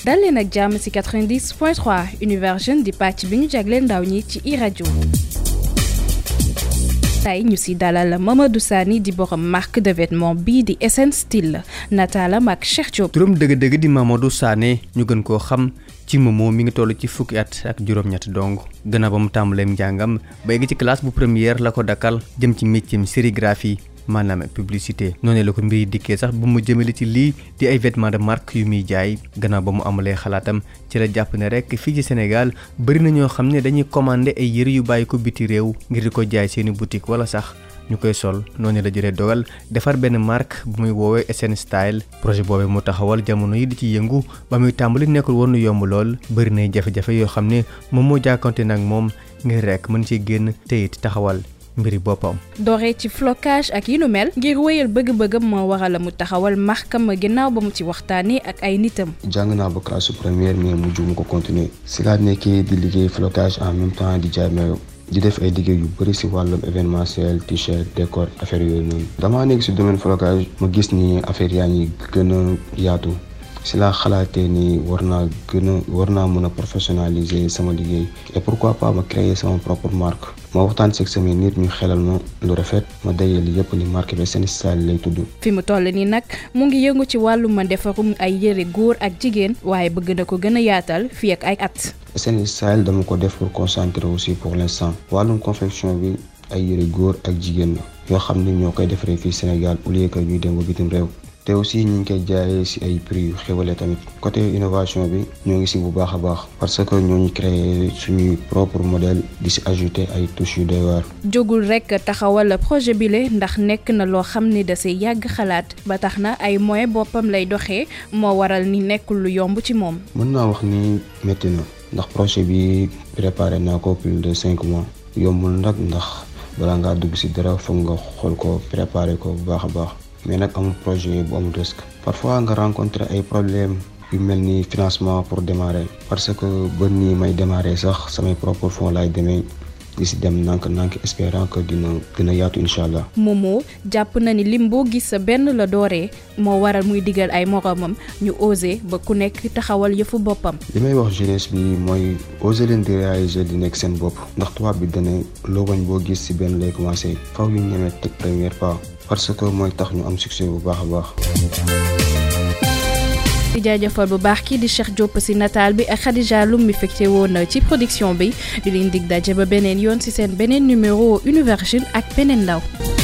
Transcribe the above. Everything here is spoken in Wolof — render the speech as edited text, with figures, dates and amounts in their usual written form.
dal leen ak jàmm ci 90.3 Univers Jeune di pàcc bi ñu jagleel ndaw ñi ci iRadio. tey ñu ci dalal Mamadou Sané di borom marque de vêtements bii di SN Style nataalam ak Cheikh Diop. turam dëgg-dëgg di Mamadou Sané ñu gën koo xam ci Momo mi ngi toll ci fukki at ak juróom-ñett dong gannaaw ba mu tàmbaleem njàngam ba yegg ci classe bu première la ko dakkal jëm ci métier sérigraphie maanaam publicité noonu la ko mbir yi dikkee sax bu mu jëmale ci lii di ay vêtements de marque yu muy jaay gannaaw ba mu amalee xalaatam ci la jàpp ne rek fii ci Sénégal bëri na ñoo xam ne dañuy commandé ay yëre yu bàyyi ko biti réew ngir di ko jaay seeni boutique wala sax ñu koy sol noonu la jëlee dogal defar benn marque bu muy woowee SN Style projet boobee mu taxawal jamono yi di ci yëngu ba muy tàmbali nekkul woon yomb lool bëri nay jafe-jafe yoo xam ne moom moo jàkkante nag moom ngir rek mën ci génn te it taxawal mbiri boppam. dooree ci flocage ak yi nu mel ngir wéyal bëgg-bëggam moo waral mu taxawal markam ginnaaw ba mu ci waxtaanee ak ay nitam. jàng naa ba classe première mais mujj mu ko continuer si laa nekkee di liggéey flocage en même temps di jaay maillot di def ay liggéey yu bëri si wàllum événementiel t-shirt décor affaire yooyu noonu. damaa nekk si domaine flocage ma gis ni affaire yaa ngi gën a yaatu si laa xalaatee ni war naa mën a professionnaliser sama liggéey et pourquoi pas ma créer sama propre marque. ma waxtaan si samay nit ñu xelal ma lu rafet ma dajale yëpp ni marque bi SN Style lay tudd. fi mu toll nii nag mu ngi yëngu ci wàllum defarum ay yëre góor ak jigéen waaye bëgg na ko gën a yaatal fii ak ay at. SN Style dama ko def pour concentrer aussi pour l'instant wàllum confection bi ay yëre góor ak jigéen la yoo xam ne ñoo koy defaree fii Sénégal au lieu que ñuy dem ba bitim réew. te aussi ñu ngi koy jaayee ci ay prix yu xéwale tamit côté innovation bi ñoo ngi ci bu baax a baax parce que ñoo ñu créé suñuy propre modèle di ci ajouter ay touches yu doy waar. jógul rek taxawal projet bile ndax nekk na loo xam ni da say yàgg xalaat ba tax na ay moyens boppam lay doxee moo waral ni nekkul lu yomb ci moom. mën naa wax ni métti na ndax projet bi préparé naa ko plus de 5 mois yombul nag ndax balaa ngaa dugg ci dara foog nga xool ko préparé ko bu baax a baax. mais nag amul projet bu amul risque parfois nga rencontrer ay problèmes yu mel ni financement pour démarrer parce que ba nii may démarrer sax samay propres fonds laay demee di si dem nank espérant que dina gën a yaatu incha allah. Momo jàpp na ni lim boo gis sa benn la dooree moo waral muy digal ay moromam ñu oser ba ku nekk taxawal yëfu boppam. li may wax jeunesse bi mooy oser leen di réaliser di nekk seen bopp ndax tubaab bi dane loo bañ boo gis si benn lay commencé faw yu ñemee teg première pas. parce que mooy tax ñu am succès bu baax a baax. di jaajëfal bu baax kii di Cheikh Diop ci nataal bi ak Khadija Loum mi fekkte woon ci production bi di leen dig daje ba beneen yoon ci seen beneen numéro Univers Jeune ak beneen ndaw.